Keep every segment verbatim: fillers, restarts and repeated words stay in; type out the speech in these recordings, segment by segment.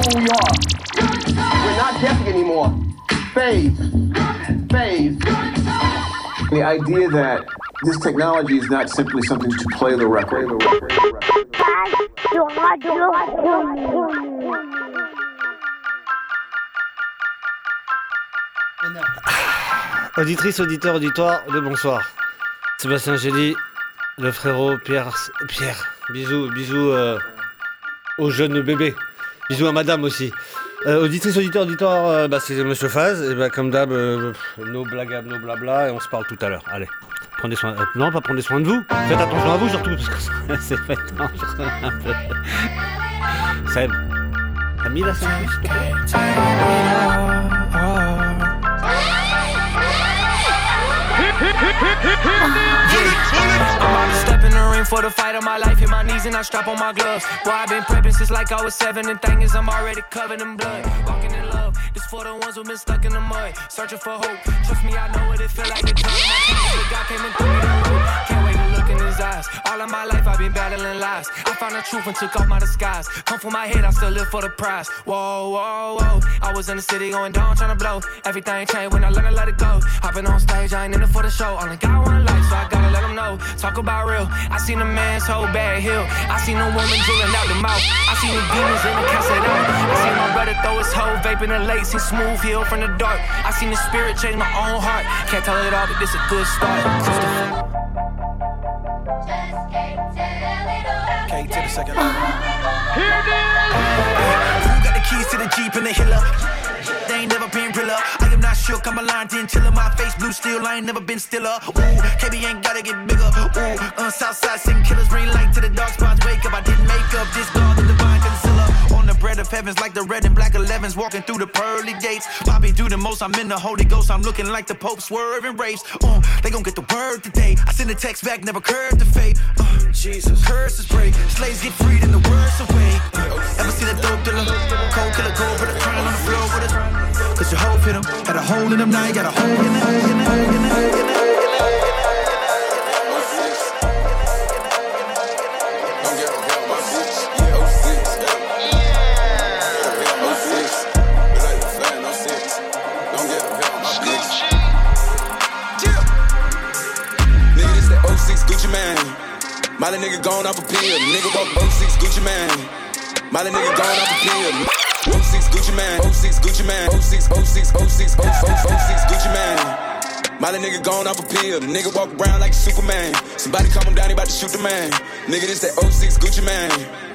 who we are. We're not guessing anymore. Phase. Phase. The idea that this technology is not simply something to play the record. Auditrice, auditeur, auditoire, le bonsoir. Sébastien Gély, le frérot Pierre. Pierre, bisous, bisous euh, au jeune bébé. Bisous à madame aussi. Euh, auditrice, auditeur, auditoire, euh, bah, c'est Monsieur Faz. Et bah, comme d'hab, euh, nos blagues, nos blabla, et on se parle tout à l'heure. Allez, prenez soin. Euh, non, pas prenez soin de vous. Faites attention à vous surtout, parce que c'est fait dangereux un peu. Seb, t'as mis la sandwich, s'il te plaît? I'm about to step in the ring for the fight of my life. Hit my knees and I strap on my gloves. Boy, I've been prepping since like I was seven. And thing is, I'm already covered in blood. Walking in love. This for the ones who've been stuck in the mud. Searching for hope. Trust me, I know what it feel like to turn my time. The God came and threw me the rope. Can't wait to look in his eyes. All of my life I've been battling lies. I found the truth and took off my disguise. Come from my head, I still live for the prize. Whoa, whoa, whoa. I was in the city going down, trying to blow. Everything changed when I learned to let it go. Hopping on stage, I ain't in it for the show. Only got one life, so I gotta let them know. Talk about real. I seen a man's whole bad hill. I seen a woman drooling out the mouth. I seen the demons in the cassette out. I seen my brother throw his whole vape in the lake. Seen smooth heel from the dark. I seen the spirit change my own heart. Can't tell it all, but this a good start. Christopher. K to the second level. Here it is! Who got the keys to the Jeep and the Hiller? They ain't never been realer. I am not shook, I'm a line ten chiller. My face blue steel, I ain't never been stiller. Ooh, K B ain't gotta get bigger. Ooh, uh, Southside sing killers, bring light to the dark spots. Wake up, I didn't make up this God, the divine concealer. On the bread of heavens like the red and black elevens. Walking through the pearly gates. Bobby do the most, I'm in the Holy Ghost. I'm looking like the Pope swerving race. Uh, they gon' get the word today. I send a text back, never curved the fate. Uh, Jesus, curses break. Slaves get freed and the words away. Uh, ever see the dope dealer? Cold killer, gold, but a crying on the floor with us. Cause your hope hit him, had a hole in him, now you got a hole in it, hole in it, hole in it, hole in it. Gucci man, Molly nigga gone off a pill. Nigga walk oh six Gucci man. Molly nigga gone off a pill. oh six Gucci man, oh six Gucci man, oh six, oh six, oh six, oh six Gucci man. Molly nigga gone off a pill. Nigga walk around like Superman. Somebody calm him down, he about to shoot the man. Nigga, this that oh six Gucci man.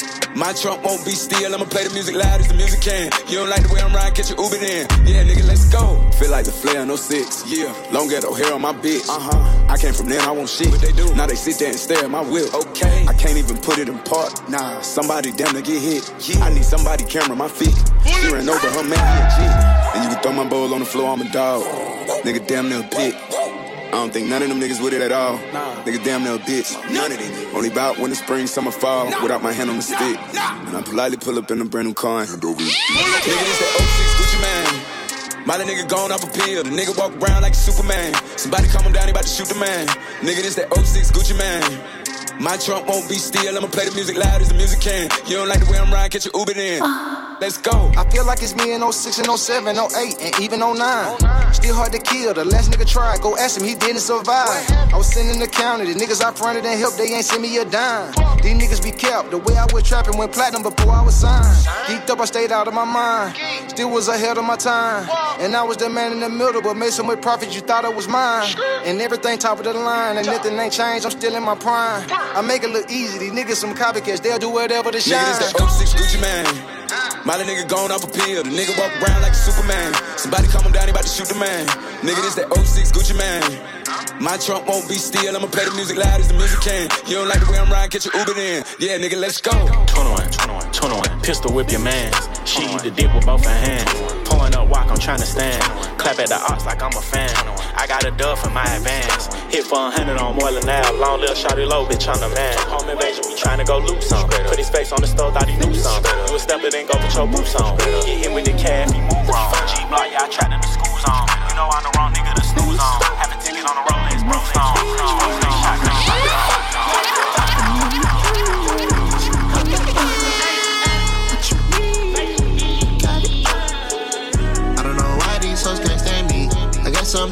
My trunk won't be still, I'ma play the music loud as the music can. You don't like the way I'm riding, catch your Uber in. Yeah, nigga, let's go. Feel like the flare on oh six, yeah. Long ghetto hair on my bitch, uh-huh. I came from there, I want shit. What they do? Now they sit there and stare at my whip. Okay, I can't even put it in park. Nah, somebody damn to get hit. Yeah. I need somebody camera my feet. She ran over her man, he a G. And you can throw my bowl on the floor, I'm a dog. Nigga damn near a pit. I don't think none of them niggas with it at all. Nah. Nigga damn near a bitch. None of them. Only bout winter, spring, summer, fall. Nah. Without my hand on the stick. Nah. And I politely pull up in a brand new car and hand over. Nigga, this that oh six Gucci man. Molly nigga gone off a pill. The nigga walk around like Superman. Somebody calm him down, he about to shoot the man. Nigga, this that oh six Gucci man. My trunk won't be still, I'ma play the music loud as the music can. You don't like the way I'm riding, catch your Uber in. Let's go. I feel like it's me in oh six and oh seven, oh eight, and even oh nine. Still hard to kill, the last nigga tried. Go ask him, he didn't survive. I was sitting in the county, the niggas I fronted and helped, they ain't send me a dime. These niggas be kept, the way I was trapping went platinum before I was signed. Geeked up, I stayed out of my mind. Still was ahead of my time. And I was the man in the middle, but made so much profit you thought it was mine. And everything top of the line, and nothing ain't changed, I'm still in my prime. I make it look easy, these niggas some copycats, they'll do whatever to shine. Nigga, this that oh six Gucci man. Molly nigga gone off a pill, the nigga walk around like a Superman. Somebody calm him down, he about to shoot the man. Nigga, this that oh six Gucci man. My trunk won't be still, I'ma play the music loud as the music can. You don't like the way I'm riding, catch your Uber in. Yeah, nigga, let's go. twenty-one, twenty-one, twenty-one, pistol whip your mans. She eat the dick with both her hands. Pulling up walk, I'm trying to stand. Clap at the ox like I'm a fan. I got a dub for my advance. Hit for a hundred on more than now. Long little shawty low, bitch, I'm the man. Home invasion, we trying to go loose on. Put his face on the stove, thought he knew something. You a step it, then go put your boots on. Get hit with the calf, he move wrong. G-block, yeah, I trapped in the school zone. You know I'm the wrong nigga to snooze on. Have a ticket on the Rolex, bro, stone.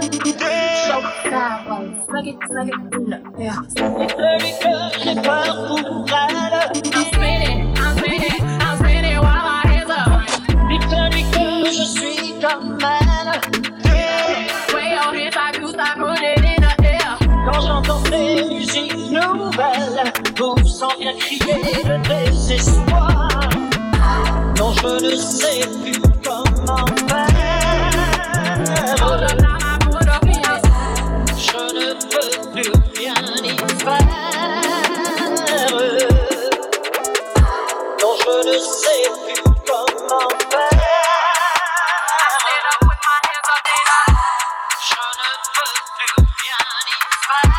J'ai peur pour elle. I'm spinning, I'm spinning, I'm spinning while my hands up. Dis-lui que je suis comme elle. Way your hands, I do stop running in the air. Quand j'entends ces musiques nouvelles, vous sent bien crier le désespoir. Non, je ne sais plus comment faire. Je ne peux plus rien y faire. Non, je ne sais plus comment faire. Je ne peux plus rien y faire.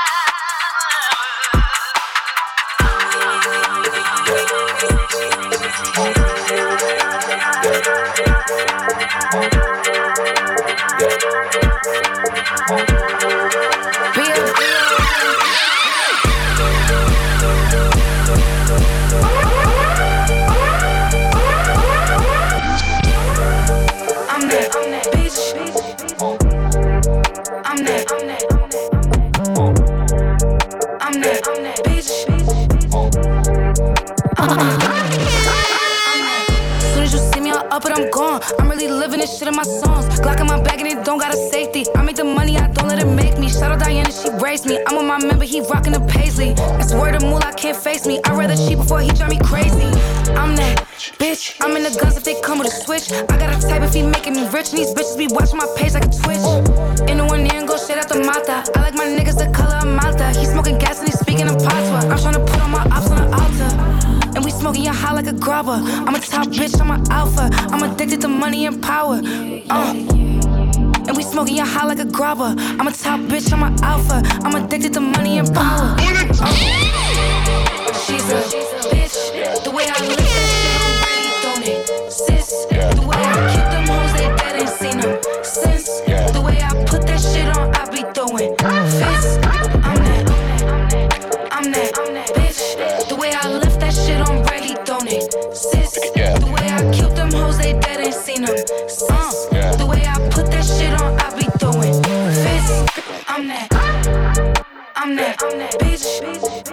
But I'm gone. I'm really living this shit in my songs. Glock in my bag and it don't got a safety. I make the money, I don't let it make me. Shout out Diana, she raised me. I'm with my member, he rockin' the Paisley. That's word of moolah, can't face me. I'd rather cheat before he drive me crazy. I'm that bitch. I'm in the guns if they come with a switch. I got a type if he making me rich. And these bitches be watching my page like a Twitch. In the one ear and go straight out the mata. I like my niggas the color of Malta. He smoking gas and he speaking in patois. I'm tryna put on my ops on the altar. And we smoking your high like a grabber. I'm a top bitch, I'm an alpha. I'm addicted to money and power. Uh. And we smoking your high like a grabber. I'm a top bitch, I'm an alpha. I'm addicted to money and power. Uh. She's a bitch. The way I live that shit, I'm really throwing it. Sis, the way I keep them hoes, they dead ain't seen them since. The way I put that shit on, I be throwing fists. I'm that, I'm that bitch. The way I lift that shit on, really throwing it. Sis, the way I killed them hoes, they dead ain't seen them since. The way I put that shit on, I be throwing fists. I'm that, I'm that, I'm that bitch.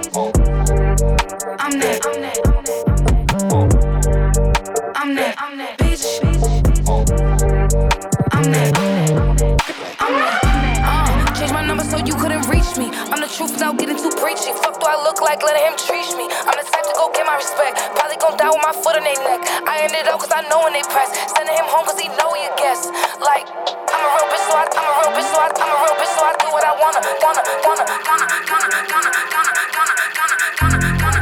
I'm that, I'm that, I'm that, I'm that bitch. I'm that, I'm that, uh, change my number so you couldn't reach me. I'm the truth without getting too preachy. Fuck do I look like, letting him treat me. I'm the type to go get my respect. Probably gon' die with my foot on their neck. I ended up cause I know when they press. Sending him home cause he know he a guest. Like, I'm a real bitch so I, I'm a real bitch so I, I'm a real bitch so I do what I wanna. Gonna, gonna, gonna, gonna, gonna, gonna, gonna, gonna, gonna, gonna.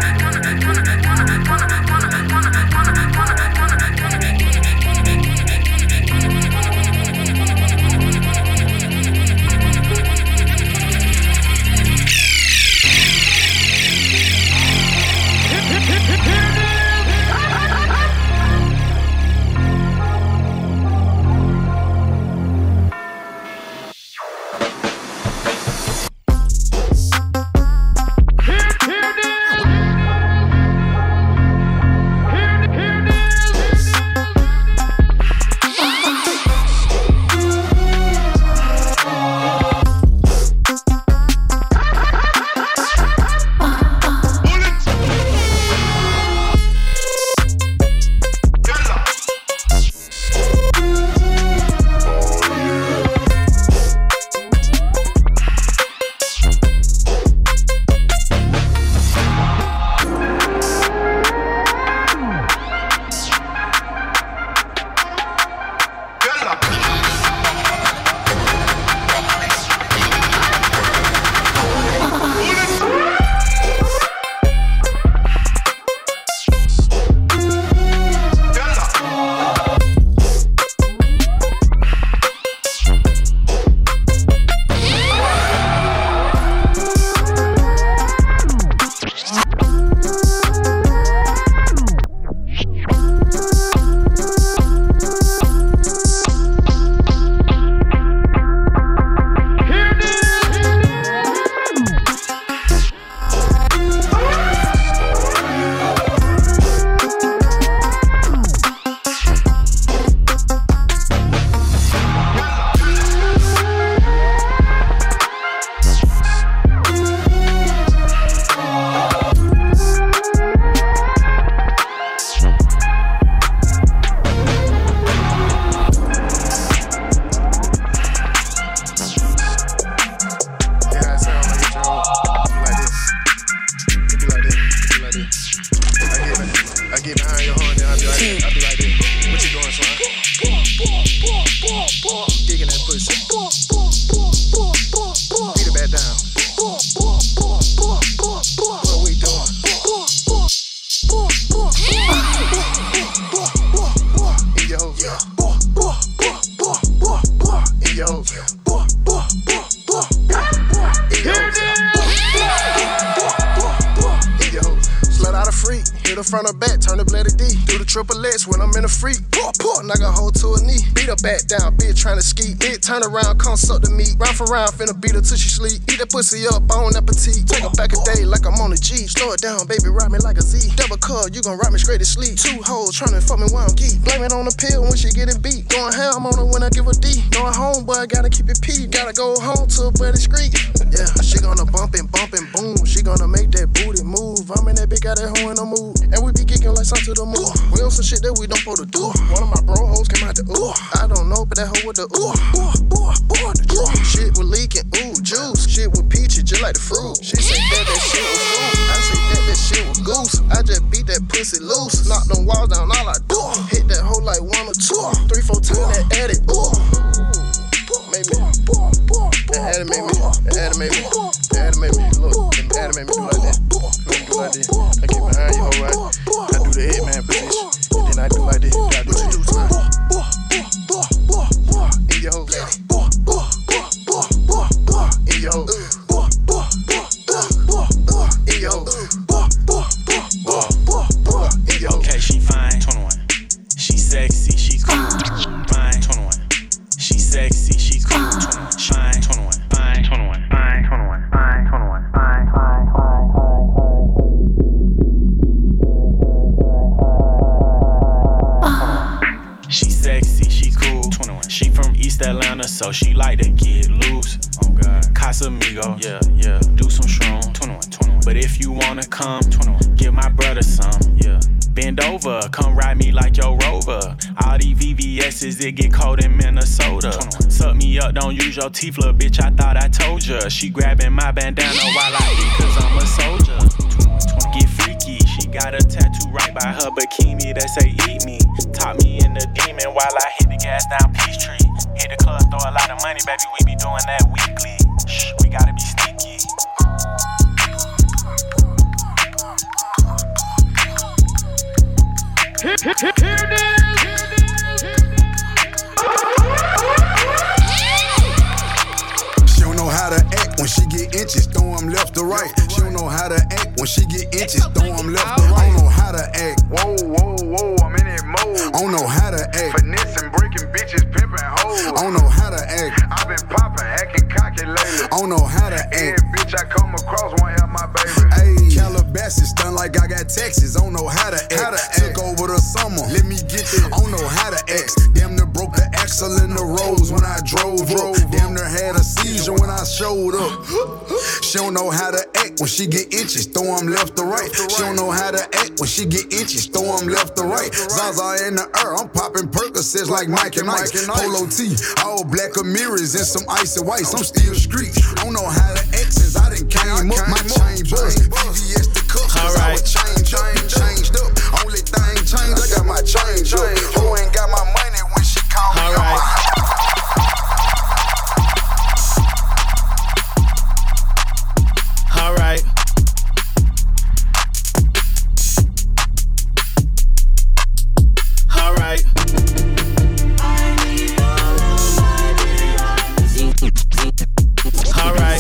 get behind your horn, then I be like this. I be like this. What you doing, son? Digging that pussy. Beat it back down. What we doing? In your hole. In your hole. Hit her front or back, turn the bloody D. Do the triple X when I'm in a freak. Poor, poor, knock a hoe to a knee. Beat her back down, bitch tryna ski. Bitch turn around, come suck the meat. Round for round, finna beat her till she sleep. Eat that pussy up, on appetite. Take her back a day like I'm on a G. Slow it down, baby, ride me like a Z. Double cut, you gon' ride me straight to sleep. Two hoes tryna fuck me while I'm geek. Blame it on the pill when she getting beat. Going ham on her when I give her D. Going home, boy, I gotta keep it P. Gotta go home to a buddy street. Yeah, she gonna bump and bump and boom. She gonna make that booty move. I'm in that big got that hoe in the mood. And we be kicking like something to the moon. We on some shit that we don't supposed to do. One of my bro hoes came out the ooh. I don't know, but that hoe with the ooh. Ooh, ooh, ooh, the ooh. Shit was leaking, ooh, juice. Shit with peaches, just like the fruit. She said that that shit was fruit. I said that that shit was goose. I just beat that pussy loose. Knock them walls down, all I do. Hit that hoe like one or two. Three, four times that addict, ooh. Made me. That addict made me. That addict made me. That addict made me. Look, that addict made me do like that. Do like this. I get behind you, hoe, right? I do the headman position. And then I do like this. I do the two times. In your hoe. In your hoe. In your hoe. Okay, she fine. twenty-one. She sexy. She's cool. Fine. twenty-one. She sexy. She's cool. twenty-one. Fine. twenty-one. Fine. twenty-one. Fine. twenty-one. Fine. twenty-one. Fine. Fine. She sexy, she cool. twenty-one. She from East Atlanta, so she like to get loose. Oh God. Casamigo, yeah, yeah. Do some shrooms. twenty-one, twenty-one. But if you wanna come, twenty-one. Give my brother some, yeah. Bend over, come ride me like your Rover. All these V V S's, it get cold in Minnesota. twenty-one. Suck me up, don't use your teeth, little bitch, I thought I told ya. She grabbing my bandana while I eat, cause I'm a soldier. twenty-one. Get freaky, she got a tattoo right by her bikini that say eat me. Top me in the demon while I hit the gas down Peachtree. Hit the club, throw a lot of money, baby, we be doing that weekly. Shh, we gotta be sneaky. Here, here, here, here it is. She don't know how to act when she get inches, throw them left to right. She don't know how to act when she get inches, throw them left to right. I don't know how to act. Whoa, whoa, whoa, I'm in that mode. I don't know how to act. Finessing, breaking bitches, pimping hoes. I don't know how to act. I've been popping, acting cocky lately. I don't know how to act. Every bitch I come across won't have my baby. Ayy, Calabasas done like I got Texas. I don't know how to act. How to act. Took over the summer, let me get there. I don't know how to act. Damn near broke the axle in the rose when I drove up. Damn near had a seizure when I showed up. She don't know how to act when she get inches, throw them left to right. She don't know how to act when she get inches, throw them left to right. Zaza in the air, I'm popping Percocets like Mike and Ike. Polo T, all black mirrors and some icy whites. I'm still street. I don't know how to act since I done came up. My chain bust, V V S the cuffs, cause I was changed up, changed up. Only thing changed, I got my change up. Who ain't got my money when she call me up? All right. All right. All right.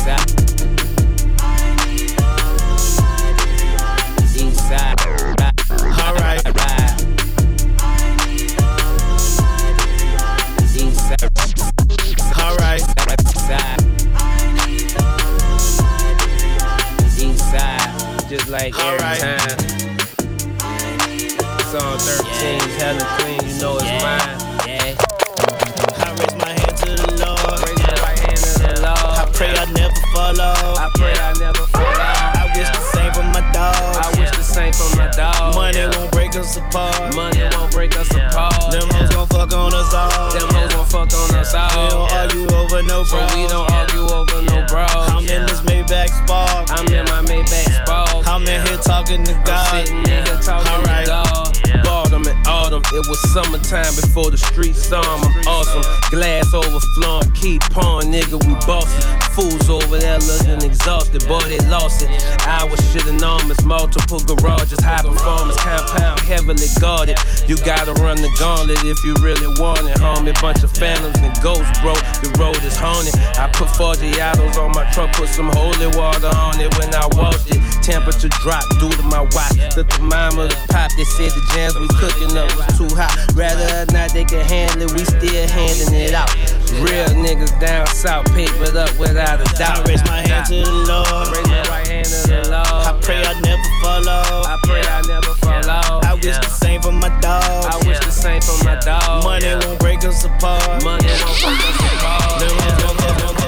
All right. All right. Just like every right. time. Song thirteen, yeah. Hella clean, you know it's yeah. mine. Yeah. I raise my hand to the Lord. Raise my right hand to the Lord. I pray I never fall off. I pray I never fall off. I wish the same for my dog. I wish the same for my dog. Money yeah. won't break us apart. Money yeah. won't break us yeah. apart. Them hoes gon' fuck on us all. Them hoes gon' fuck on us all. We don't yeah. argue over no bro. So we don't yeah. argue over yeah. no bro. I'm yeah. in this Maybach Spark. I'm yeah. in my Maybach Spark. I'm in here talking to God. I'm sitting in here talking All right. to God. It was summertime before the streets saw him. I'm awesome. Glass overflowing, keep pouring, nigga, we bossin'. Fools over there looking exhausted, boy, they lost it. I was shit enormous, multiple garages, high performance, compound, heavily guarded. You gotta run the gauntlet if you really want it, homie. Bunch of phantoms and ghosts, bro, the road is haunted. I put Forgiatos on my truck, put some holy water on it when I washed it. Temperature dropped due to my watch. The thermometer pop, they said the jams we cooking up was too hot. Rather or not, they can handle it, we still handing it out. Real niggas down south, papered up without a doubt. I raise my hand to the Lord. Raise my right hand to the Lord. I pray I never fall off. I pray I never fall off. I wish the same for my dog. I wish the same for my dog. Money won't break us apart. Money won't break us apart.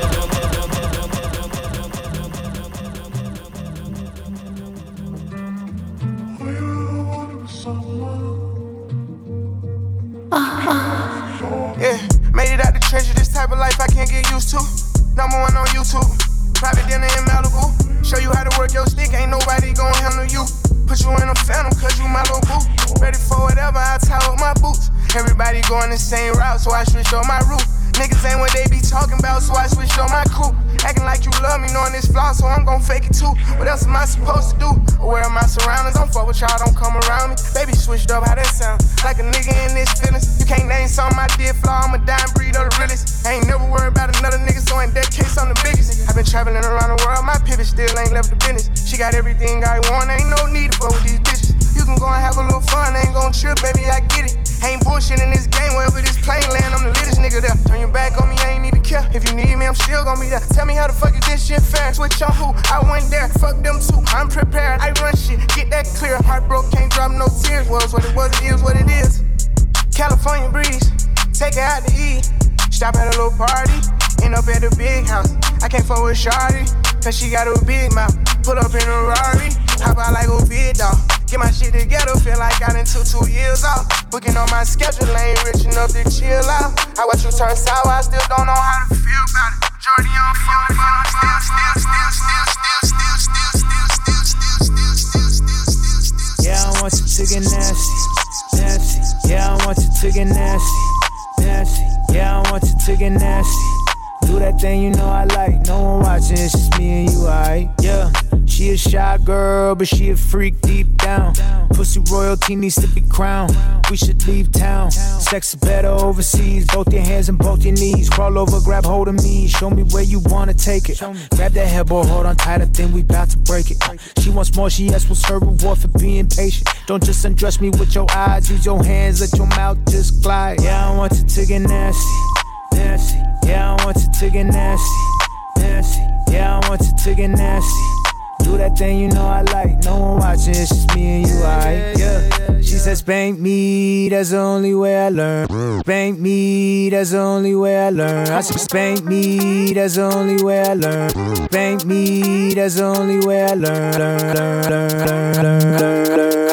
Yeah, made it out the treasure, this type of life I can't get used to. Number one on YouTube, private dinner in Malibu. Show you how to work your stick, ain't nobody gon' handle you. Put you in a phantom, cause you my little boo. Ready for whatever, I tie up my boots. Everybody going the same route, so I switched on my route. Niggas ain't what they be talking about, so I switched on my crew. Acting like you love me, knowing this flaw, so I'm gon' fake it too. What else am I supposed to do? Aware of my surroundings, don't fuck with y'all, don't come around me. Baby switched up, how that sound? Like a nigga in this feelings. You can't name something I did flaw, I'm a dime breed of the realest. I ain't never worried about another nigga, so in that case, I'm the biggest. I've been traveling around the world, my pivot still ain't left the business. She got everything I want, ain't no need to fuck with these bitches. You can go and have a little fun, ain't gon' trip, baby, I get it. Ain't bullshit in this game, wherever this plane land, I'm the littest nigga there. Turn your back on me, I ain't need to care. If you need me, I'm still gon' be there. Tell me how the fuck is this shit fair? Switch on who? I went there. Fuck them too, I'm prepared. I run shit, get that clear. Heart broke, can't drop no tears. Was what it was, it is what it is. California breeze, take her out to eat. Stop at a little party, end up at the big house. I can't fuck with Shawty, cause she got a big mouth. Pull up in a Rari, hop out like a big dog. Get my shit together, feel like I done took two years off. Booking on my schedule, ain't rich enough to chill out. I watch you turn sour, I still don't know how to feel about it. Jordy on phone, but I'm still, still, still, still, still, still, still, still, still, still, still, still, still, still. Yeah, I want you to get nasty, nasty. Yeah, I want you to get nasty, nasty. Yeah, I want you to get nasty. Do that thing you know I like. No one watching, it's just me and you, alright? Yeah. She a shy girl, but she a freak deep down. Pussy royalty needs to be crowned. We should leave town. Sex is better overseas. Both your hands and both your knees. Crawl over, grab hold of me. Show me where you wanna take it. Grab that headboard, hold on tight. I think we bout to break it. She wants more, she asks what's her reward for being patient. Don't just undress me with your eyes. Use your hands, let your mouth just glide. Yeah, I want you to get nasty, nasty. Yeah, I want you to get nasty, nasty. Yeah, I want you to get nasty. Do that thing you know I like. No one watching, it's just me and you, alright? Yeah. She says, spank me, that's the only way I learn. Spank me, that's the only way I learn. I said, spank me, that's the only way I learn. Spank me, that's the only way I learn. Learn, learn, learn, learn, learn, learn, learn.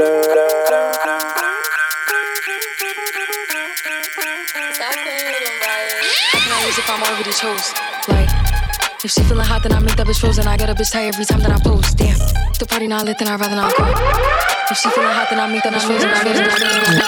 If I'm already chose, like, if she feeling hot, then I make that bitch frozen. I get a bitch tired every time that I post. Damn, the party not lit, then I'd rather not go. If she feeling hot, then I make that bitch frozen. I get a bitch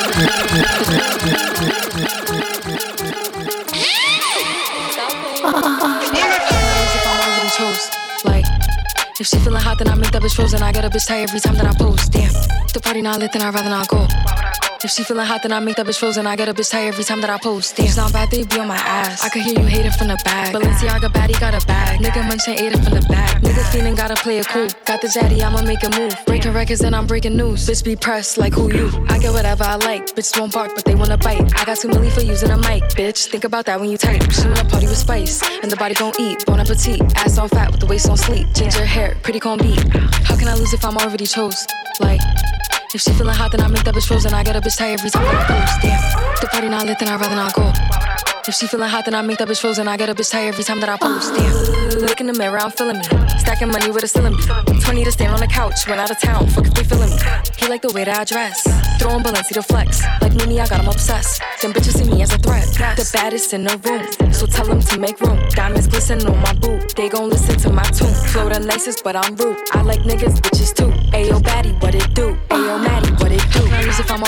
if I'm already chose, like, if she feeling hot, then I make that bitch frozen. I get a bitch tired every time that I post. Damn, the party not lit, then I'd rather not go. If she feeling hot, then I make that bitch frozen. I get a bitch tired every time that I post. Damn, it's not bad, they be on my ass. I could hear you hating from the back. Balenciaga baddie got a bag. Nigga munchin' ate it from the back. Nigga feeling gotta play it cool. Got the zaddy, I'ma make a move. Breaking records, then I'm breaking news. Bitch be pressed like who you? I get whatever I like. Bitch won't bark, but they wanna bite. I got two milli for using a mic, bitch. Think about that when you type. She wanna party with spice, and the body gon' eat. Bon appetit, ass on fat with the waist on sleep. Ginger hair, pretty con beat. How can I lose if I'm already chose? Like, if she feeling hot, then I make that bitch frozen. I get a bitch tired every time that I post. Damn, the party not lit, then I'd rather not go. If she feeling hot, then I make that bitch frozen. I get a bitch tired every time that I post. Damn, look in the mirror, I'm feeling me. Stacking money with a ceiling beat. twenty to stand on the couch, went out of town. Fuck if they feeling me. He like the way that I dress. Throwing Balenci to flex. Like Mimi, I got him obsessed. Them bitches see me as a threat. The baddest in the room, so tell them to make room. Diamonds glisten on my boot. They gon' listen to my tune. Flow the nicest, but I'm rude. I like niggas, bitches too. Ayo, baddie, what it do? Ayo, Maddie, what it do? If I'm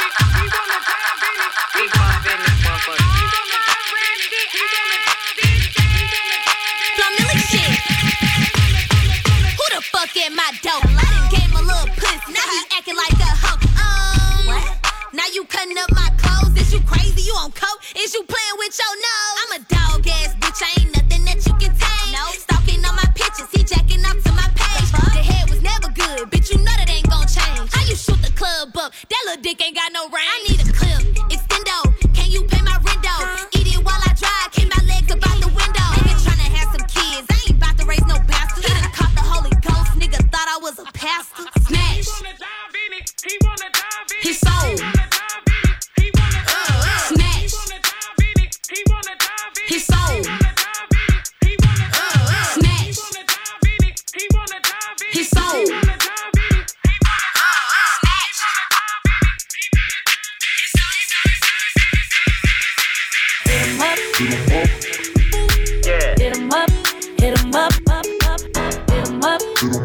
At my dope, I done gave him a little pussy. Now he acting like a hoe. Um, what? Now you cutting up my clothes. Is you crazy? You on coke? Is you playing with your nose? I'm a dog ass bitch. I ain't nothing that you can tame. No, stalking on my pictures. He jacking up to my page. The head was never good, bitch. You know that ain't gon' change. How you shoot the club up? That little dick ain't got no range. I need a clip, extendo. Can you pay my rent though? Eat it while I drive. Keep my legs up out the window. Nigga tryna have some kids. I ain't about to raise no bastard. He done caught the Holy Ghost. Nigga thought I was a pastor. Smash. He sold. Smash. He sold. Smash. He sold. Hit 'em up, hit 'em up, up, up, up, hit 'em up.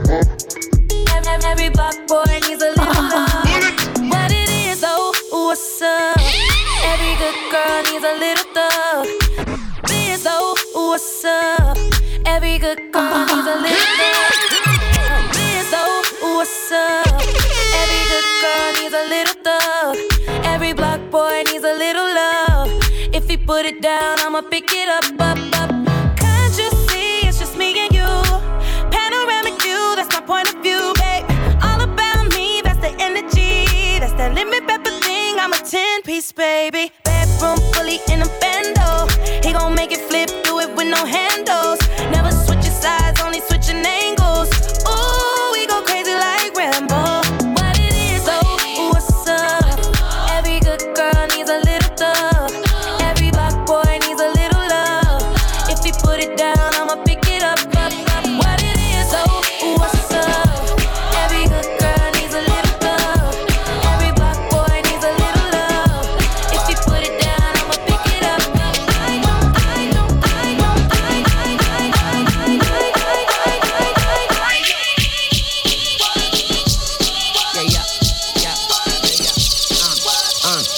Every block boy needs a little love. What it is, oh, what's up? Every good girl needs a little thug. This, oh, what's up? Every good girl needs a little thug. This, oh, what's up? Every good girl needs a little thug. Every block boy needs a little love. If he put it down, I'ma pick it up, up, up. Can't you see it's just me and you? Panoramic view, that's my point of view, babe. All about me, that's the energy. That's that lemon pepper thing, I'm a ten-piece, baby. Bedroom fully in a bando. He gon' make it flip, do it with no handles. Never switching sides, only switching angles. Ooh, we go crazy like Rambo. What it is, oh, what's up? Every good girl needs a little thug. Every black boy needs a little love. If he put it down, I'ma pick it up, up, up. What it is, oh, what's up? Every good girl needs a little thug. Every black boy needs a little love. If he put it down, I'ma pick it up, up. I know, I know, I know, I, I, I, I, I, I, I, Yeah, yeah, yeah, yeah, uh,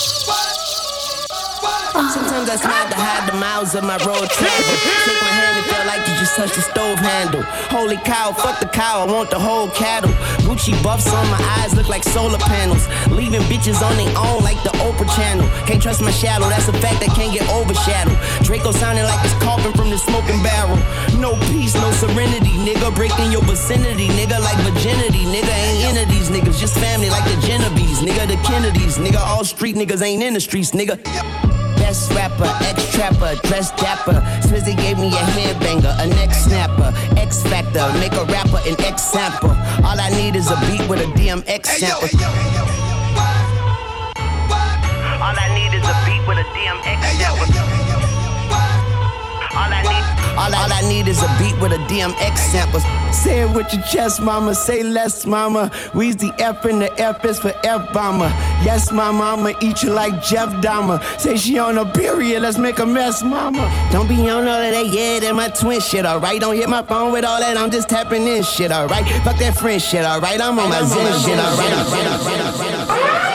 uh. Sometimes I smile to hide the miles of my road travel. Take my hand and feel like you just touched the stove handle. Holy cow, fuck the cow, I want the whole cattle. Gucci buffs on my eyes look like solar panels. Leaving bitches on their own like the Oprah channel. Can't trust my shadow, that's a fact that can't get overshadowed. Draco sounding like it's coughing from the smoking barrel. No peace, no serenity, nigga. Breaking your vicinity, nigga, like virginity. Nigga ain't into these niggas, just family like the Genovese. Nigga, the Kennedys, nigga, all street niggas ain't in the streets, nigga. Best rapper, ex-trapper, dressed dapper. Swizzy gave me a headbanger, a neck snapper. X-Factor, make a rapper an X-sample. All I need is a beat with a D M X sample. All I need is a beat with a D M X sample. All I need, all I, all I need is a beat with a D M X sample. Say it with your chest, mama. Say less, mama. We's the F and the F is for F-bomber. Yes, mama, I'ma eat you like Jeff Dahmer. Say she on a period, let's make a mess, mama. Don't be on all of that, yeah, that my twin shit, alright? Don't hit my phone with all that, I'm just tapping in shit, alright? Fuck that friend shit, alright? I'm on my zen shit, alright? Alright, alright, alright, alright.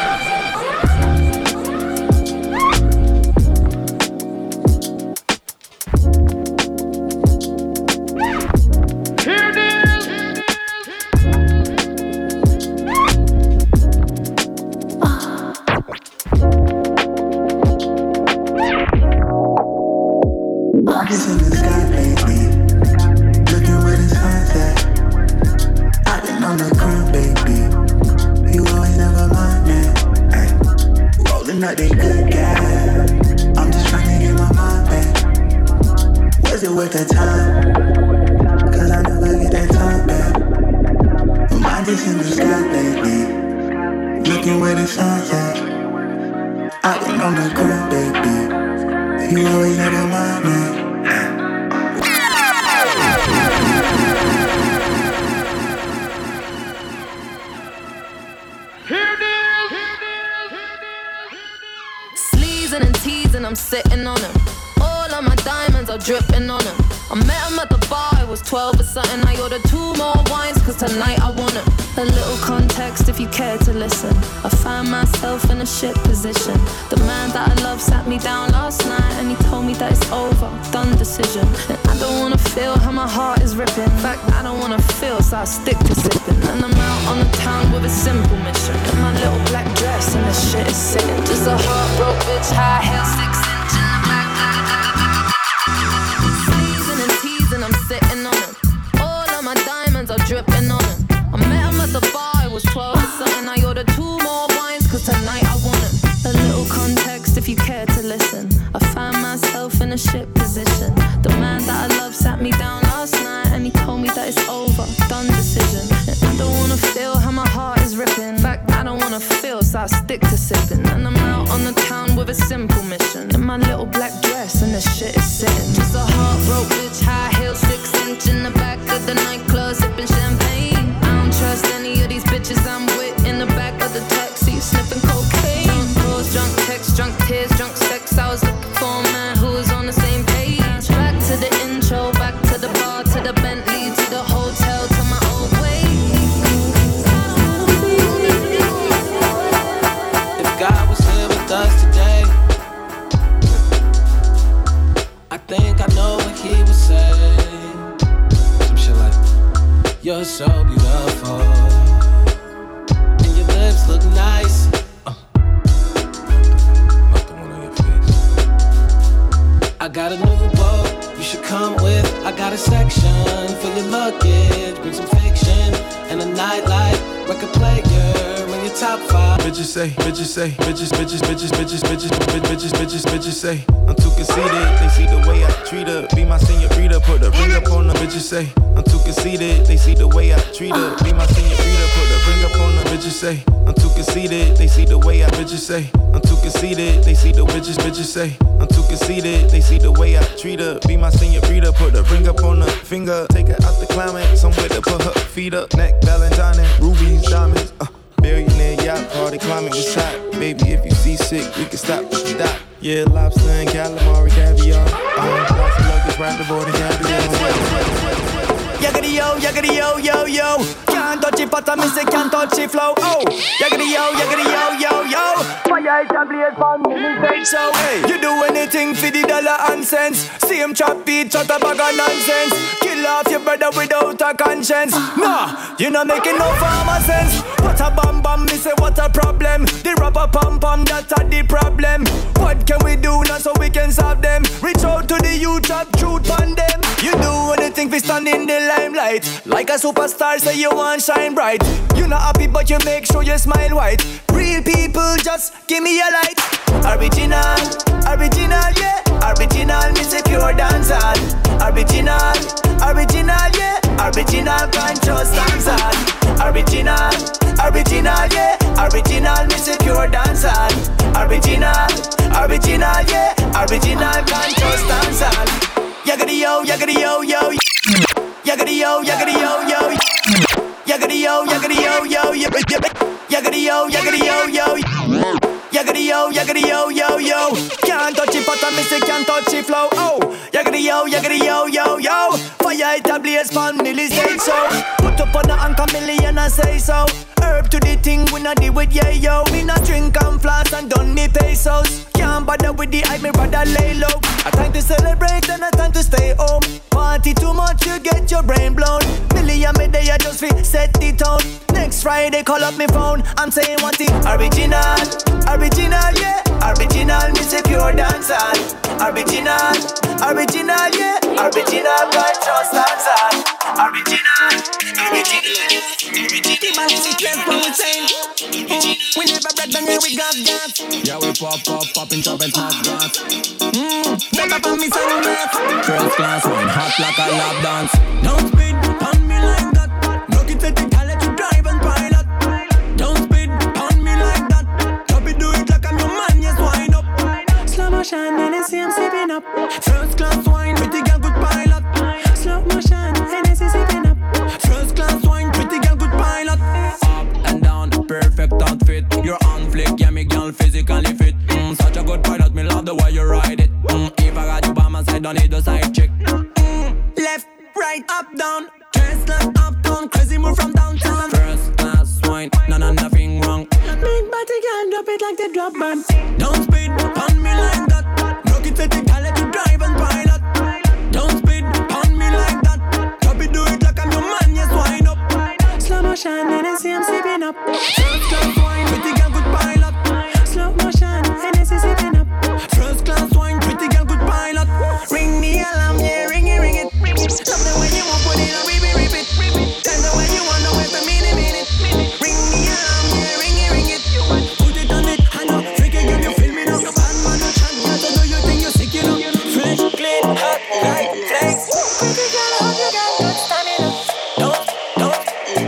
Rockets in the sky lately, looking where the sun's at. I've been on the grind, baby. You always never mind, man. Ay, rolling up that good gas. I'm just trying to get my mind back. Was it worth the time? Cause I never get that time back. My mind is in the sky lately, looking where the sun's at. I've been on the grind, baby. You always never mind, man. Sleeves Teasing and teasing, I'm sitting on him. All of my diamonds are dripping on him. I met him at the bar, I was twelve or something. I ordered two more wines, cause tonight I want him. A little context if you care to listen. I found myself in a shit position. The man that I love sat me down last night and he told me that it's over, done decision. And I don't wanna feel how my heart is ripping. In fact, I don't wanna feel, so I stick to sipping. And I'm out on the town with a simple mission. In my little black dress and the shit is sitting. Just a heartbroken bitch, high heel, six inch in the back. Teasing and teasing, I'm sitting on him. All of my diamonds are dripping on him. I met him at the bar, I was twelve or something. I ordered two more wines, cause tonight I want him. A little context if you care to listen. I found myself in a shit position. The man that I love sat me down last night and he told me that it's over, done decision. And I don't wanna feel how my heart is ripping. In fact, I don't wanna feel, so I stick to sipping. And I'm out on the town with a simple mission. In my little black dress and the shit is sitting. Just a heartbroken bitch, high heel, six inch in the back of the nightclub, sipping champagne. I don't trust any of these bitches I'm with. In the back of the taxi, sniffing cocaine. Drunk calls, drunk texts, drunk tears, drunk sex. I was looking for a man who was on the same page. Back to the intro, back to the bar, to the Bentley, to the hotel, to my old way. If God was here with us today, I think I know what he would say. Some shit like, you're so beautiful, and your lips look nice. Uh. Not the one on your face. I got a new boat you should come with. I got a section for your luggage. Bring some fiction and a nightlight record player when you're top five. Bitches say, bitches say, bitches, bitches, bitches, bitches, bitches, bitches, bitches, bitches, bitches say I'm too conceited. They see the way I treat her. Be my señorita, put a ring up on her. Bitches say I'm too conceited. They see the way I treat her. Be my señorita, put a ring up on her. Bitches say I'm too conceited. They see the way I. Bitches say I'm too conceited. They see the bitches. Bitches say I'm too conceited. They see the way I treat her. Be my señorita, put a ring up on her finger. Take her out the climate, somewhere to put her feet up. Neck, Valentine, rubies, diamonds. Uh, billionaire yacht party, climate was hot. Baby, if you seasick, we can stop, stop. Yeah, lobster and calamari, caviar. Uh, lots of luggage, ride the board and caviar. Yaggity yo, yaggity yo, yo, yo. Can't touch it, but I miss it, can't touch it, flow. Oh, yaggity yo, yaggity yo, yo, yo. Fire is a blaze from me, so hey, you do anything for the dollar and cents. Same trap beat, shut a bag of nonsense. Kill off your brother without a conscience. Nah, you not making no farmer sense. What a bam bam, me say what a problem. The rapper pam pam, that's a the problem. What can we do now so we can solve them? Reach out to the youth, drop truth on them. You do anything for stand in the limelight. Like a superstar, say you want shine bright. You not happy but you make sure you smile white. Real people, just give me a light. Original, original, yeah. Original, me say pure dancehall. Original, original, yeah. Original, can't just dancehall. Original, original, yeah. Original, me say pure dancehall. Original, original, yeah. Original, can't just dancehall. Yaggity yo, yaggity yo, yo. Yaggity yo, yaggity yo, yo. Yaggity yo, yaggity yo, yo, yo. Yaggity yo, yaggity yo, yo. Yaggity yo, yaggity yo, yo, yo. Can't touch it, but I miss it, can't touch it, flow. Oh, yaggity yo, yaggity yo, yo, yo. Fire it a blaze, pan Millie's say so. Put up on the anchor million and say so. Herb to the thing, we not deal with yeah yo. Me not drink and floss and done me pesos. Can't bother with the hype, me rather lay low. A time to celebrate and a time to stay home. Party too much, you get your brain blown. Million me day, I just fit set the tone. Next Friday, call up me phone. I'm saying what it original, original, yeah. Original, me say pure dancehall. Original, original, yeah. Original, can't just dancehall. Original, original, yeah. Original, that's what we saying. We never break down here, we got gas. Yeah, we pop, pop, pop in top and top gas. Mmm, step up on me sunglass. First class one, hot like a lap dance. Don't speed on me like that. Knock it at the car, let you drive and pilot. Don't speed on me like that. Drop it, do it like I'm your man, yes, wind up. Slow motion, and I see I'm sipping up. First class wine, pretty girl, good pilot. Slow motion, and I see sipping up. First class wine, pretty girl, good pilot. Up and down, perfect outfit. You're on flick, it. Yeah, me girl physically fit. Mm, such a good pilot, me love the way you ride it. Mm, if I got you by my side, don't need the side chick. Mm, left, right, up, down. Dress like uptown, crazy move from downtown. First class wine, no, no, nothing wrong. Big body girl, drop it like the drop man. Don't speed on me like that. Look it at the girl, let you drive and pilot. Don't speed on me like that. Drop it, do it like I'm your man, yes, wind up. Slow motion, and I see I'm sipping up. First class wine, pretty girl, good pilot. Slow motion, and I see sipping up. First class wine, pretty girl, good pilot. Ring the alarm, yeah, ring it, ring it. Love the way you move, put it on, rip it, rip it. Tell the way you want, the way to minute, minute. Ring the alarm, yeah, ring it, ring it. Put it on it, I know. Freaky girl, you feel me now. Bad man, no chat, girl, so do you think you're sick, you know? Fresh, clean, hot, light, flex. Pretty girl, I hope you got good stamina. Don't, don't.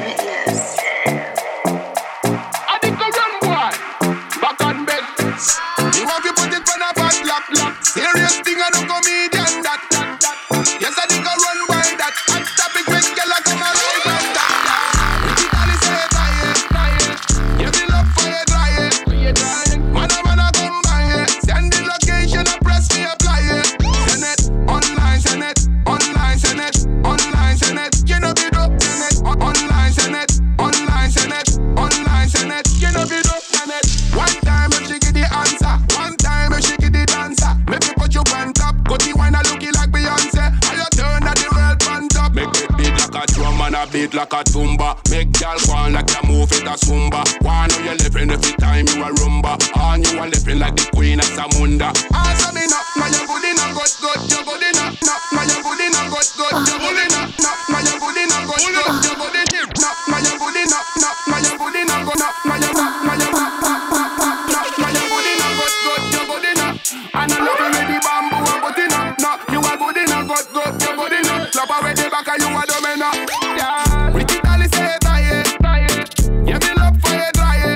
I think I run boy, back on bed. You want to put it on a bad lap, lap. Serious thing, I don't comedian, that, that, that. Yes, I think I run by that. Hot topic, when girl, I come alive and that, that. Pretty girl is say, try it, try it. You feel up for you, try it. Man, a man, I come by it. Send the location, I press me, apply it. Send it, online, send it, online, send it, online, send it. You know be dope, send it, online, send it, online, send it, online, send it. You know be dope, send it. One time if she get the answer, one time if she get the dancer. Make me put you on top, got the wine a looking like Beyonce. How you turn at the world on top? Make it beat like a drum and a beat like a tumba. Make y'all go on like you move it a zumba. One know you living every time you a rumba. And you a living like the queen of Samunda. Answer me now, now you good enough, good, good, you good enough. Now, now you good enough, good, good, you good enough. Now, now you good enough, good, good, you good enough. Now, now you good enough, now, now you good enough, good, now, now you, now you, now, now you good enough, good, good, you good enough. And I love you with the bamboo and good enough. Now you are good enough, good, good, you good enough. Clap away the back and you are domina. Yeah, Ricky Dolly say try it, try it. You feel up for you, try it.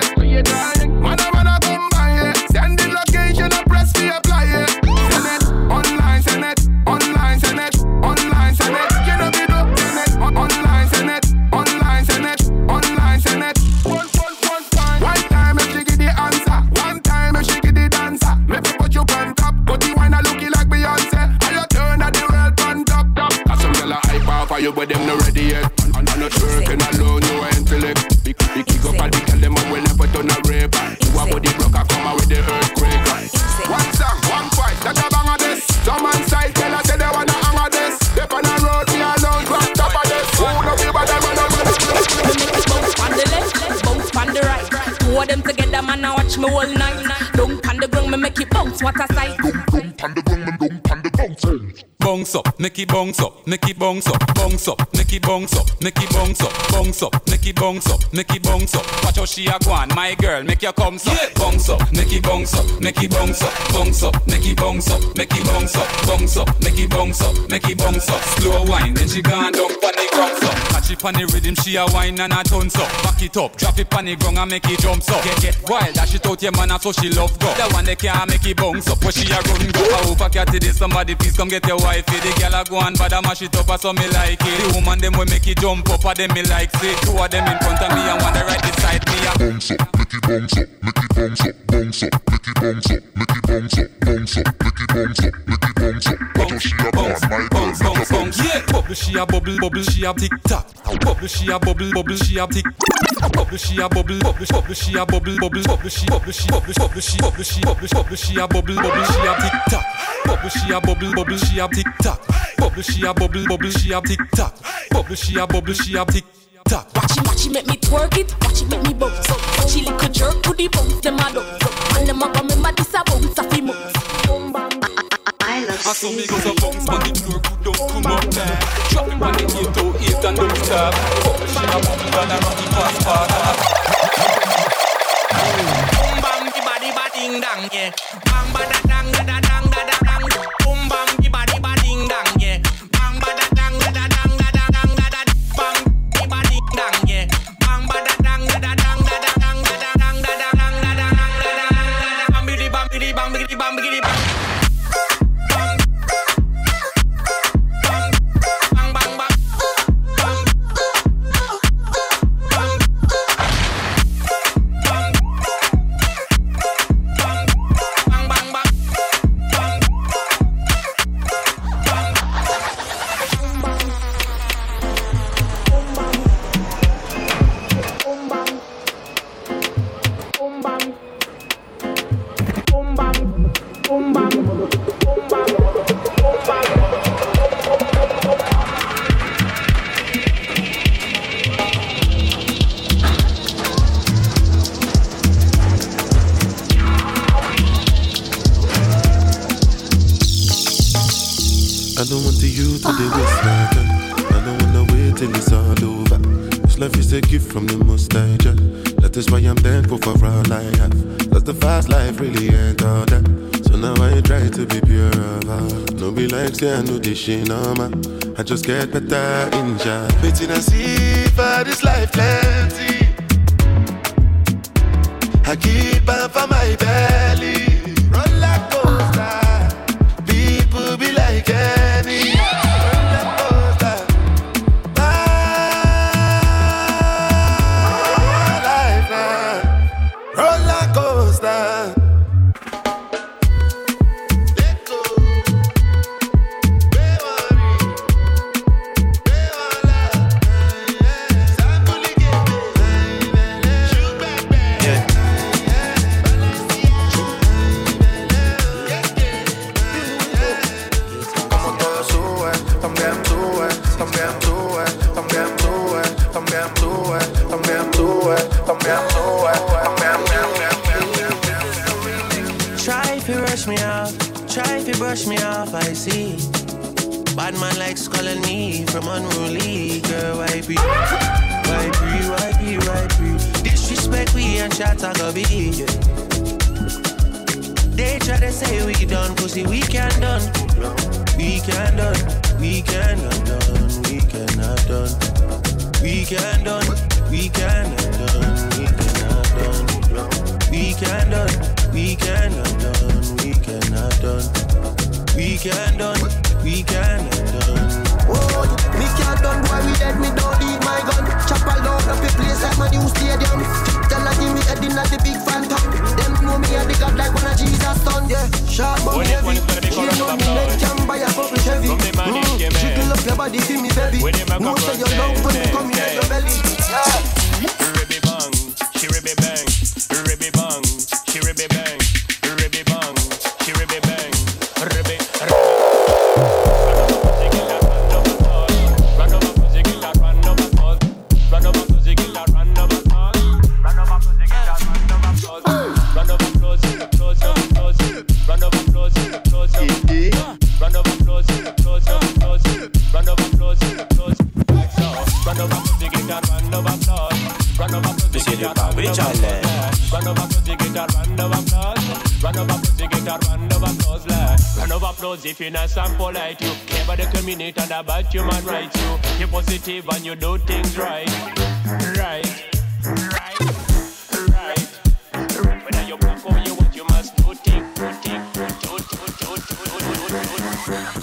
Man a man a come by it. Send the location and press me apply it. Send it, online send it, online send it, online send it. You know me do, send it, online send it, online send it, online send it. One, one, one time. One time if she get the answer, one time if she get the dancer. Make me put you on top, got the wine a looking like Beyonce. How you turn at the world on top, top. Cause some girl a hype off for you, but them not ready yet. And I'm not working alone, no intellect. Big, big kick up at the girl, them up will never turn a rape. You a body broker, come out with the earthquake. One song, one fight, that a bang of this. Some man side, tell us say they wanna hang of this. Step on the road, we alone, drop top of this. Who know we bad, man, I'm gonna bounce on the left, bounce on the right. Two of them together, man, I watch me all night. Don't on the ground, me make it bounce, what a sight. Don't on the ground, me don't on the bounce. Bounce up, make it bounce up, make it bounce up, bounce up, make it bounce up, make it bounce up, bounce up, make it bounce up, make it bounce up. Watch how she a go on, my girl, make your come up. Bounce up, make it bounce up, make it bounce up, bounce up, make it bounce up, make it bounce up, bounce up, make it bounce up, make it bounce up. Slow wine, then she gone down pon the ground up. Catch it pon the rhythm, she a wine and a tons up. Back it up, drop it pon the ground and make it jump up. Get get wild, dash it out your man, so she love go. The one that can't make it bounce up, but she a run go. I hope I catch it, somebody please come get your wifey. The girl a go and bad a mash it up, so me like it. The woman them will make it jump up, and them me like say. Two of them in front of me and one right beside me. Bounce up, make it bounce up, make it bounce up, bounce up, make it bounce up, make it bounce up, bounce up, make it bounce up, make it bounce up. Watch how she a bounce, my girl, make a bounce. Yeah, bubble she a bubble, bubble she a tick tock. Bubble she a bubble, bubble she a tick. Bubble she a bubble, bubble, bubble she a bubble, bubble, bubble she, bubble she, bubble, bubble she, bubble she, bubble, bubble she a bubble, bubble she a tick tock. Bubble she a bubble, bubble she a tick tock. Bubble she a bubble, bubble she a tick tock. Bubble she a bubble she a tick tock. Watch it, watch it, make me twerk it. Watch it, make me bounce up. Watch it, little jerk to the bounce, them a don't. And them a remember this a bounce, a fi bounce. I love I saw me go to bounce, but the floor could don't come up there. Drop him on the eight to eight and don't stop. Bubble she a bubble and a rocky fast part. Boom bam, the body batting dang, yeah. Bang ba da dang da da dang da da dang. Boom bam, the body batting dang, yeah. Bang ba da dang da da dang da da dang da da. Bang the body dang, yeah. Bang ba da dang da da dang da da dang da da dang da da dang da da dang da da dang. Bam bidi bam bidi bam bidi bam bidi bam. don't want to you to the waste like that. I don't wanna wait till it's all over. This life is a gift from the Most High Jah. That is why I'm thankful for all I have. Cause the fast life really ain't all that. So now I try to be pure of heart. No be like say I know this shit no man. I just get better in Jah. Waiting and see for this life plenty. I keep on for my belly. Roller coaster. People be like any. Roller coaster. My life now. Roller coaster. Try if you rush me off, try if you brush me off, I see. Bad man likes calling me from unruly. Girl, why be? Why be? Why be? Why be? Disrespect we and chat I go be. They try to say we done, pussy we can done. We can done, we can done, we cannot done. We can done, we can done, we cannot done. We can done, we cannot done, we cannot done. We can done, we cannot done. Oh, me can't done, boy, we dead, me don't need my gun. Chop all out of the place like my new stadium. Tell her give me head in at the big phantom. Them know me and the God like one of Jesus' son, yeah. Sharp but heavy, she know me neck can buy a bubble Chevy. Mm, jiggle up your body, feel me baby. No say you love when you come in at your belly, yeah. Ribby bang, she ribby bang, ribby bang, she ribby bang, ribby bang, she ribby bang, ribby. Monsieur de Paris, Charlie. Round of applause, you get a round of applause. Round of applause, you get a round of applause. Round of applause if you're nice and polite. You care about the community and about human rights. You, you're positive and you do things right. Right, right, right. Whether you're black or you what you must do, think, do, think, do, do, do, do, do, do, do.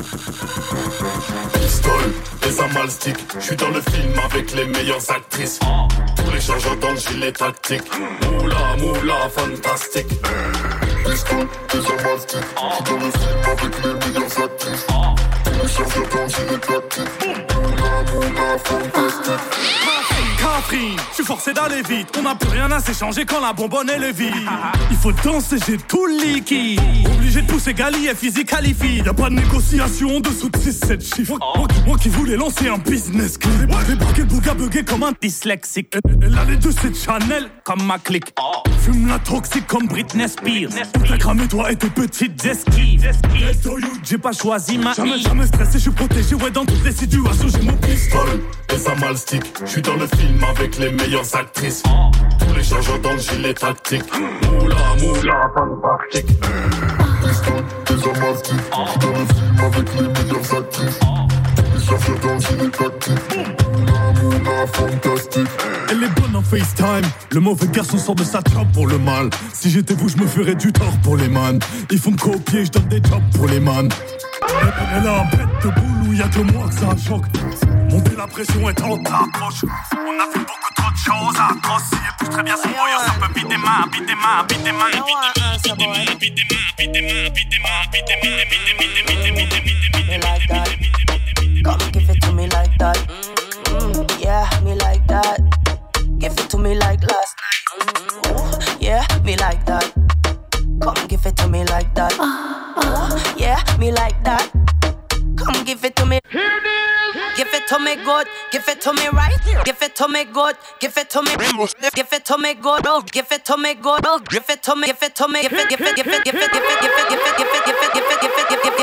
Pistole, les amas stick. J'suis dans le film avec les meilleures actrices. Tous les changements dans le gilet tactique. Moula, moula, fantastique. Pistole, les amas stick. J'suis dans le film avec les meilleures actrices. Tous les changements dans le gilet tactique. Moula, moula, fantastique. Catherine, je suis forcé d'aller vite. On n'a plus rien à s'échanger quand la bonbonne est vide. Il faut danser, j'ai tout le liquide. Obligé de pousser Gali et physique qualifie. Y'a pas de négociation en dessous de six sept chiffres. Moi, moi qui voulais lancer un business clé. J'ai barqué le bouga bugué comme un dyslexique. Elle a les deux, c'est Chanel comme ma clique. Fume la toxique comme Britney Spears. T'as cramé toi et tes petites esquives. J'ai pas choisi ma Jamais, jamais stressé, je suis protégé. Ouais, dans toutes les situations, j'ai mon pistolet. Les amas stick. J'suis dans le film avec les meilleures actrices. Tous les changements dans le gilet tactique. Moula, moula, fantastique. Pistole, les amas stick. J'suis dans le film avec les meilleures actrices. Tous les changements dans le gilet tactique. Moula, moula, fantastique. Elle est bonne en FaceTime. Le mauvais garçon sort de sa job pour le mal. Si j'étais vous, je me ferais du tort pour les man. Ils font me copier, je donne des jobs pour les man. Elle, elle a un bête de boule où y'a que moi que ça choque. Monter la pression est en t'approche. On a fait beaucoup trop de choses atroces. Si elle pousse très bien son boyau, ça peut biter des mains, biter des mains, biter des mains, biter des mains, biter des mains, biter des mains, biter des mains, biter des mains, biter des mains, biter des mains, biter des mains. Come give it to me like that. Mm, yeah, me like that. Give it to me like last night. Ooh, yeah, me like that. Come give it to me like that. Ooh, yeah, me like that. Come give it to me. Give it to me good, give it to me right. Give it to me good, give it to me. Give it to me good, oh, give it to me good, oh, give it to me, give it to me, give it, give it, give it, give it, give it, give it, give it, give it, give it, give it, give it, give it, give it to me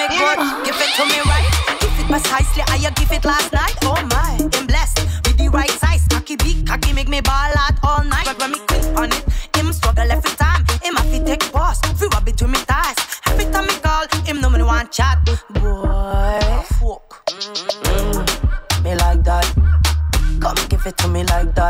me good. Give it to me right. Give it precisely how you give it last night. Oh my, I'm blessed with the right size. Cocky big, cocky make me ball out all night. But when me quick on it, him struggle every time. Him have to take pause, free rub between me thighs. Every time me call, him know me want chat. Boy, fuck. Mm, me like that. Come give it to me like that.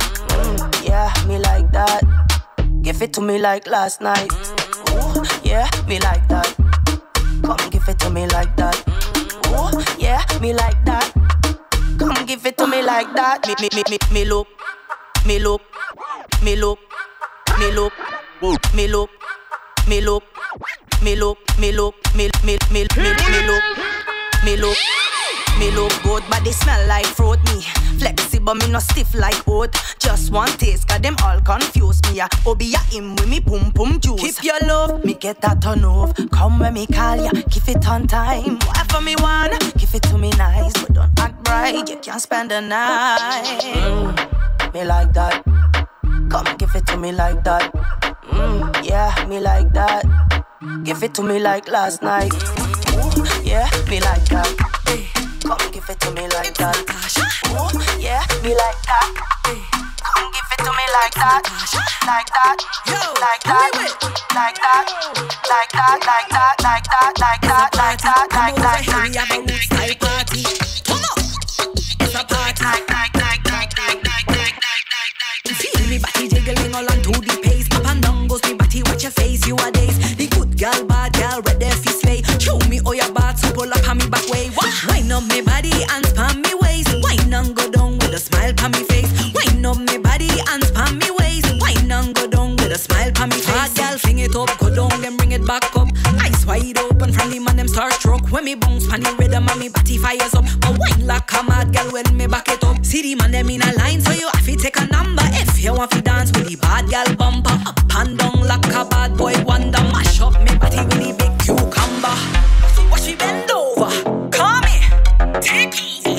Mm, yeah, me like that. Give it to me like last night. Ooh, yeah, me like that. Come give it to me like that. Ooh, yeah, me like that. Come give it to me like that. Me, me, me, me, me look, me look, me look, me look, me look, me look, me look, me look, me, me, me, me, me look, me look. Me look good, but they smell like fruit. Me flexible, me no stiff like oat. Just one taste, cause them all confuse me. Yeah. Obi ya him with me pum pum juice. Keep your love, me get that turn off. Come when me call ya, give it on time. Whatever me want, give it to me nice. But don't act right, you can't spend the night. Mm, me like that. Come give it to me like that. Mm, yeah, me like that. Give it to me like last night. Ooh, yeah, me like that. Come give it to me like that. Ooh, yeah, me like that. Come give it to me like that. Like that. Like that. Like that. Like that. Like that. Like that. Like that. Like that. Like that. Like that. Like that. Party. Come on. It's a party. Like like like like like like like like. Feel me body jiggling all on to the pace. Up and down goes me body. Watch your face. You are days. The good girl, bad girl, red there fi slay. Show me all your bad, so pull up on me back way. Wine up me body and span me waist. Wine and go down with a smile on me face. Wine up me body and span me waist. Wine and go down with a smile on me face. Hard girl, fling it up, go down then bring it back up. Eyes wide open from the man them starstruck. When me bounce pan the rhythm and me body fires up. But wine like a mad girl when me back it up. See the man them in a line, so you have to take a number. If you want to dance with the bad girl bumper, up and down like a bad boy wonder. Mash up me body with the big cucumber. So watch me bend over, come here, take over.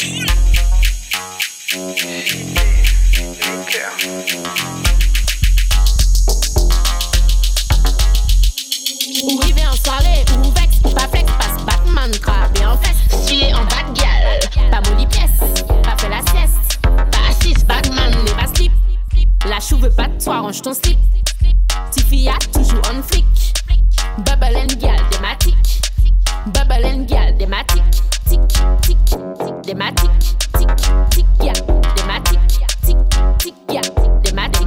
Oui, viens en soirée, ou vex, ou pas flex, passe Batman, crabé en fesse. Chier en bad gal, pas molly pièce, pas fait la sieste. Pas assise, Batman, n'est pas slip. La chou veut pas de toi, range ton slip. Tiffy a toujours on flic. Bubble and gal, thématique. Bubble and gal, thématique. Tic, tic, tic, thématique. Tic, tic, ya, thématique. Tic, tic, ya, thématique.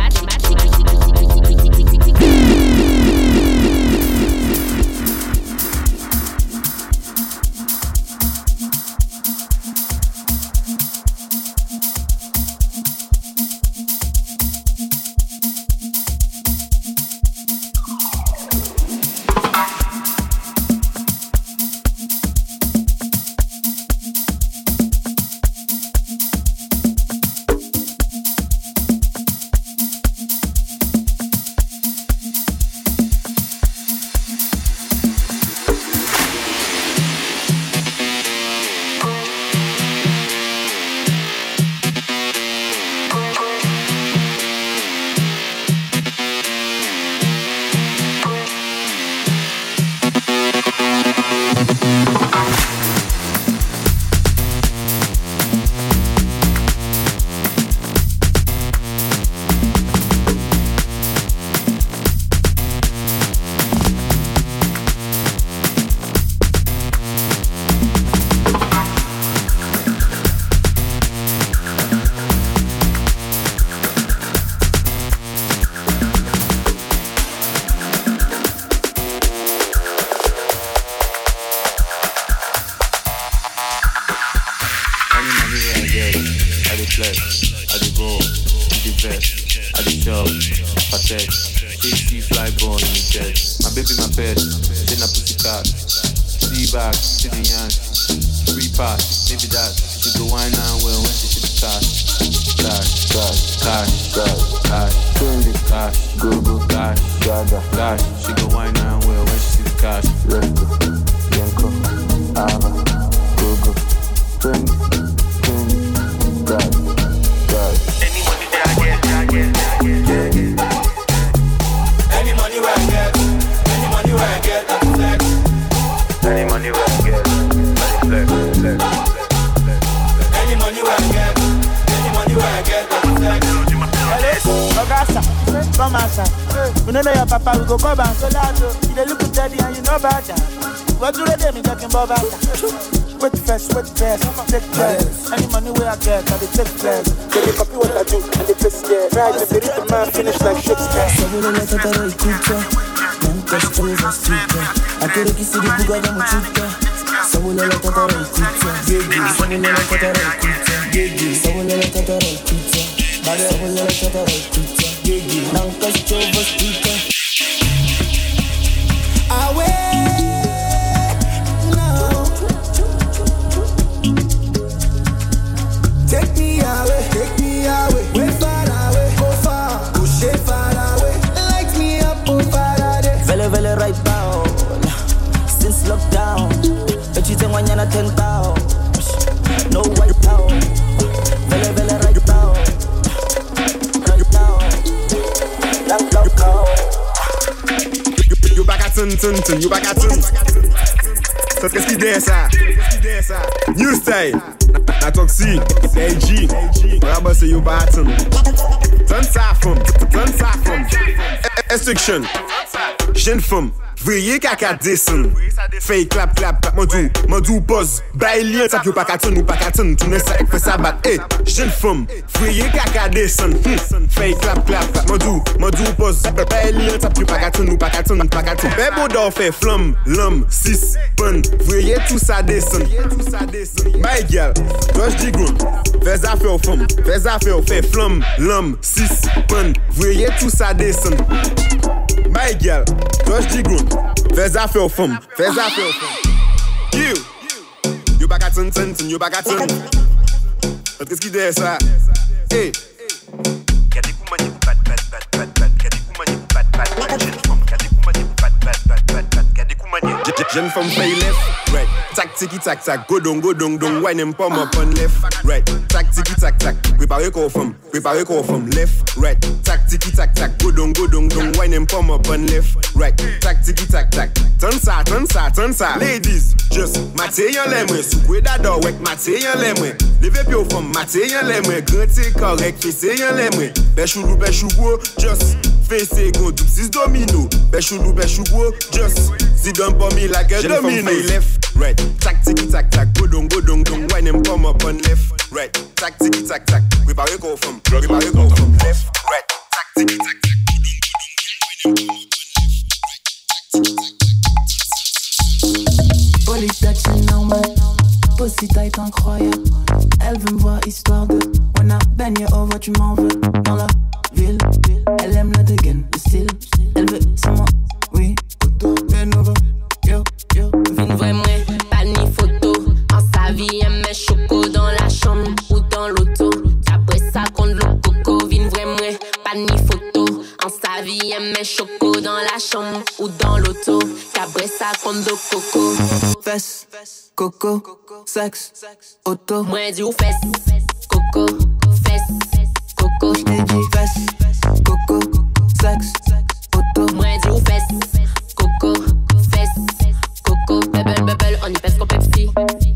Any money money where I get, flex, flex, flex. Any money where I get, any money where I get, flex. Ogasa, come outside. We know your papa will go come back. So loud, you dey look at daddy and you know about that. What do they do? Me talking about that. Wait first, wait first, take place. Any money where I get, I dey take place. They dey copy what I do and they face scared. Right, they read the man finish like Shakespeare. So we don't let it go, écoute. Même test pour les insultes. À tout le qui s'est dit bouga dans mon chuta. So we don't let it go, écoute. So we don't let it go, écoute. So we don't let it go, écoute. So we don't let it go, écoute. Não test pour les insultes. Away. Take me away, take me away, way far away, go far, push it far away, light me up, oh Faraday. Vele vele right now, since lockdown, but you think when you're not ten down, no white town. Vele vele right now, right now, lock lock lock. You back at ten ten ten, you back at ten. So qu'est-ce qu'il dit ça? New style. Na toxic, A G, Brabba say you bottom. Turn safum, turn safum. Instruction, jeune femme, veuillez caca descend. Fake clap clap clap, modou, modou pose. Bailien, ça que pas qu'à ton ou pas qu'à ton. Tout ne sait que fait ça bat. Eh, jeune femme, veuillez caca descend. Fake clap clap clap, modou, modou pose. Bailien, ça que pas qu'à ton ou pas qu'à ton, pas qu'à ton. Bébé d'or fait flamme, l'homme, six, bonne. Veuillez tout ça descend. My girl. Dois digoun, fais affaire aux femmes, fais affaire aux fait flamme, l'homme, six, bonne, voyez tout ça descend. My girl, dois digoun, fais affaire aux femmes, fais affaire aux femmes. You, you back at ten ten ten, you back at ten. Qu'est-ce qu'il dit ça? Hey. Y'a des coups manies, bad bad bad bad bad. Y'a des coups manies, bad bad bad. Jeune femme, y'a des coups manies, bad bad bad bad bad. Y'a des coups manies. Jeune femme play left, right. Tac tiki tac tac, go down go down down. Wine and palm up on left, right. Tac tiki tac tac, préparez qu'on femme, préparez qu'on femme left, right. Tac tiki tac tac, go down go down down. Wine and palm up on left, right. Tac tiki tac tac. Turn ça, turn ça, turn ça. Ladies, just maté yon lemwe. Soukwe d'ador wek maté yon lemwe. Leve pi au femme, maté yon lemwe. Grante correct, fesse yon lemwe. Bechoulou bechoulou, just fesse go double six domino. Bechoulou bechoulou, just sit down for me like a domino. Left, right. Tac tiki tac tac, go down go down down. Wine and palm up on left, right. Tac tiki tac tac, préparez qu'on femme, préparez qu'on femme left, right. Tac tiki tac tac, go down go down down. Wine and palm up on left, right. Police touching on my pussy tight incroyable. Elle veut me voir histoire de when I bang you over, tu m'en veux dans la ville. Elle aime la dégaine, le style. Elle veut c'est moi, oui. Auto de nouveau, yo yo. Vine vrai moi, pas ni photo. En sa vie, elle met choco dans la chambre ou dans l'auto. Après ça, compte le coco. Vine vrai moi, pas ni photo. En sa vie, elle met choco dans la chambre ou dans l'auto. Après ça, compte de coco. Fesse, coco, sexe, auto. Moi, dis ou fesse, coco, fesse, coco. J't'ai dit fesse, coco, sexe, auto. Moi, dis ou fesse, coco, fesse, coco. Bubble, bubble, on y pèse comme Pepsi.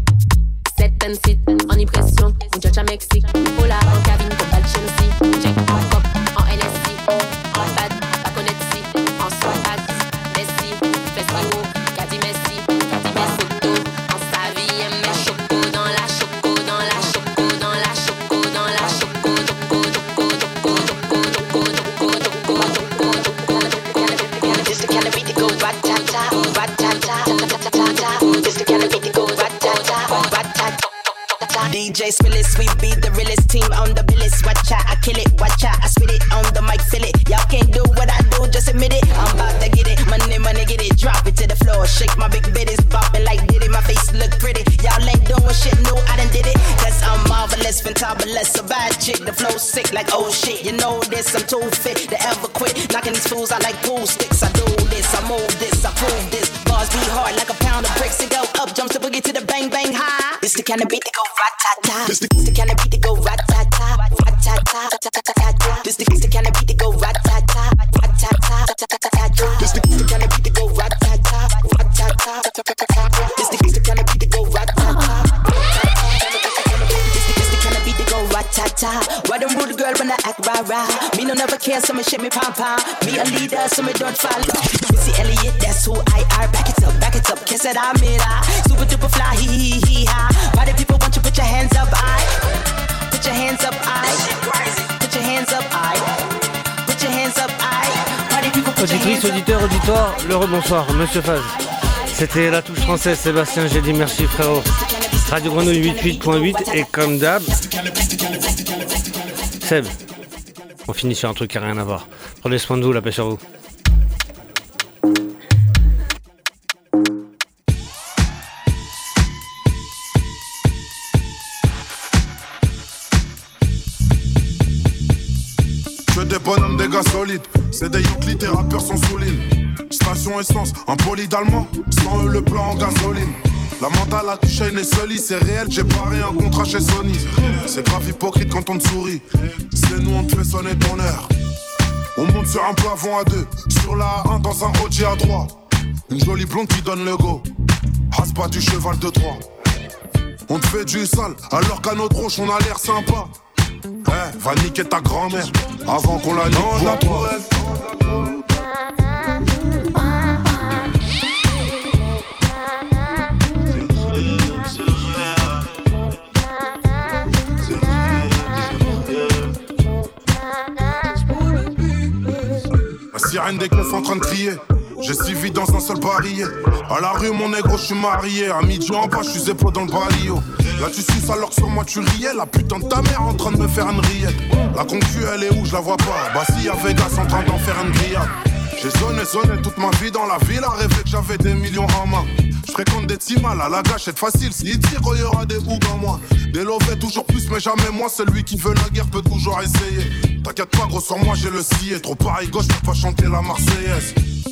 Set and sit, en impression, muchacha Mexique. Hola, en cabine, comme pas de Chelsea. Check en cop, en N S C. En bad, pas connaître si. En soirée, Messi, festival, Caddy Messi, Caddy Messi, photo. En sa vie, elle met choco dans la choco, dans la choco, dans la choco, dans la choco, choco, choco, choco, choco, choco, choco, choco, choco, choco, choco. This the kind of beat that goes rat-ta-ta, rat-ta-ta, ta-ta-ta-ta. This the kind of beat that goes rat-ta-ta, rat-ta-ta. D J Spillis, we be the realest team on the billis. Watch out, I kill it, watch out, I spit it on the mic, feel it. Y'all can't do what I do, just admit it. I'm about to get it, money, money, get it. Drop it to the floor, shake my big bitties, bopping like Diddy. My face look pretty, y'all ain't doing shit new, I done did it. Cause I'm marvelous, fantabulous, a bad chick. The flow sick like oh shit, you know this, I'm too fit to ever quit. Knocking these fools out like pool sticks. I do this, I move this, I prove this. Bars be hard like a pound of bricks and go up, jump to boogie to the bang bang high. This the kind of beat that go rat-ta-ta. This the, the kind of beat that go rat-ta-ta, rat-ta-ta, ta-ta-ta-ta. This the, the kind of beat that go rat-ta-ta, rat-ta-ta, ta-ta-ta-ta. This the, the kind of beat that go rat-ta-ta, rat-ta-ta, ta-ta-ta-ta. This the never care, so me shake me pom pom. Me a leader, so me don't follow. Missy Elliott, that's who I are. Back it up, back it up, kiss it, I'm it. Super duper fly, hee hee hee ha. Why do people want you put your hands up, I? Put your hands up, I. Put your hands up, I. Put your hands up, I. Why do people put your hands up? Auditrice, auditeur, auditoire, le rebonsoir, Monsieur Faz. C'était la touche française, Sébastien, j'ai dit merci frérot. Radio Grenouille quatre-vingt-huit point huit et comme d'hab, Seb, on finit sur un truc qui n'a rien à voir. Prenez soin de vous, la paix sur vous. Que des bonhommes, des gars solides, c'est des Euclides, tes rappeurs sont soulignes. Station essence, un poli d'allemand, sans eux le plan en gasoline. La mentale a touché une Sully, c'est réel, j'ai paré un contrat chez Sony. C'est grave hypocrite quand on te sourit, c'est nous on te fait sonner ton heure. On monte sur un plafond à deux, sur la A un dans un Audi à droite. Une jolie blonde qui donne le go, rase pas du cheval de Troie. On te fait du sale, alors qu'à notre roche on a l'air sympa. Eh, hey, va niquer ta grand-mère, avant qu'on la nique pour toi. Sirène des keufs en train de crier. J'ai suivi dans un seul barillet. À la rue mon négro je suis marié. À midi en bas je suis épaule dans le barrio. Là tu suces alors que sur moi tu riais. La putain de ta mère en train de me faire une rillette. La concu elle est où je la vois pas. Bah si y'a Vegas en train d'en faire une grillade. J'ai sonné sonné toute ma vie dans la ville. À rêver que j'avais des millions en main. Je fréquente des timales à la gâchette facile. S'il tire il y aura des hougs en moi. Des lovés toujours plus mais jamais moi. Celui qui veut la guerre peut toujours essayer. T'inquiète pas gros sur moi j'ai le scié. Trop pareil gauche peux pas chanter la Marseillaise.